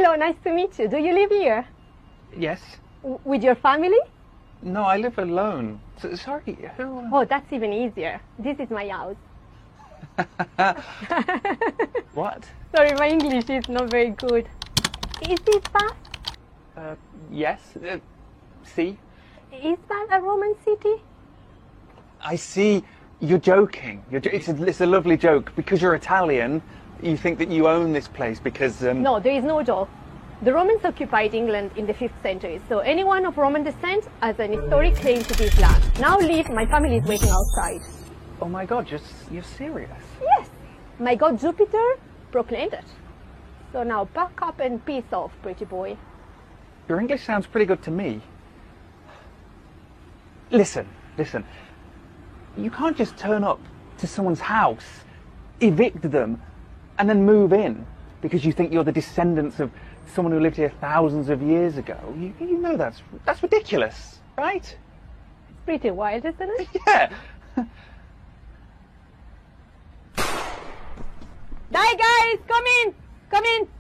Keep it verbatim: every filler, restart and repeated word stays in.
Hello, nice to meet you. Do you live here? Yes. W with your family? No, I live alone. So, sorry, who? Oh, that's even easier. This is my house. What? Sorry, my English is not very good. Is this Bath? Uh, yes. Uh, see? Is that a Roman city? I see. You're joking. You're jo it's, a, it's a lovely joke. Because you're Italian, you think that you own this place because... Um... No, there is no joke. The Romans occupied England in the fifth century, so anyone of Roman descent has an historic claim to this land. Now leave, my family is waiting outside. Oh my God, you're, you're serious? Yes, my god Jupiter proclaimed it. So now pack up and peace off, pretty boy. Your English sounds pretty good to me. Listen, listen. You can't just turn up to someone's house, evict them, and then move in because you think you're the descendants of someone who lived here thousands of years ago. You, you know that's that's ridiculous, right? It's pretty wild, isn't it? Yeah. Die, guys! Come in! Come in!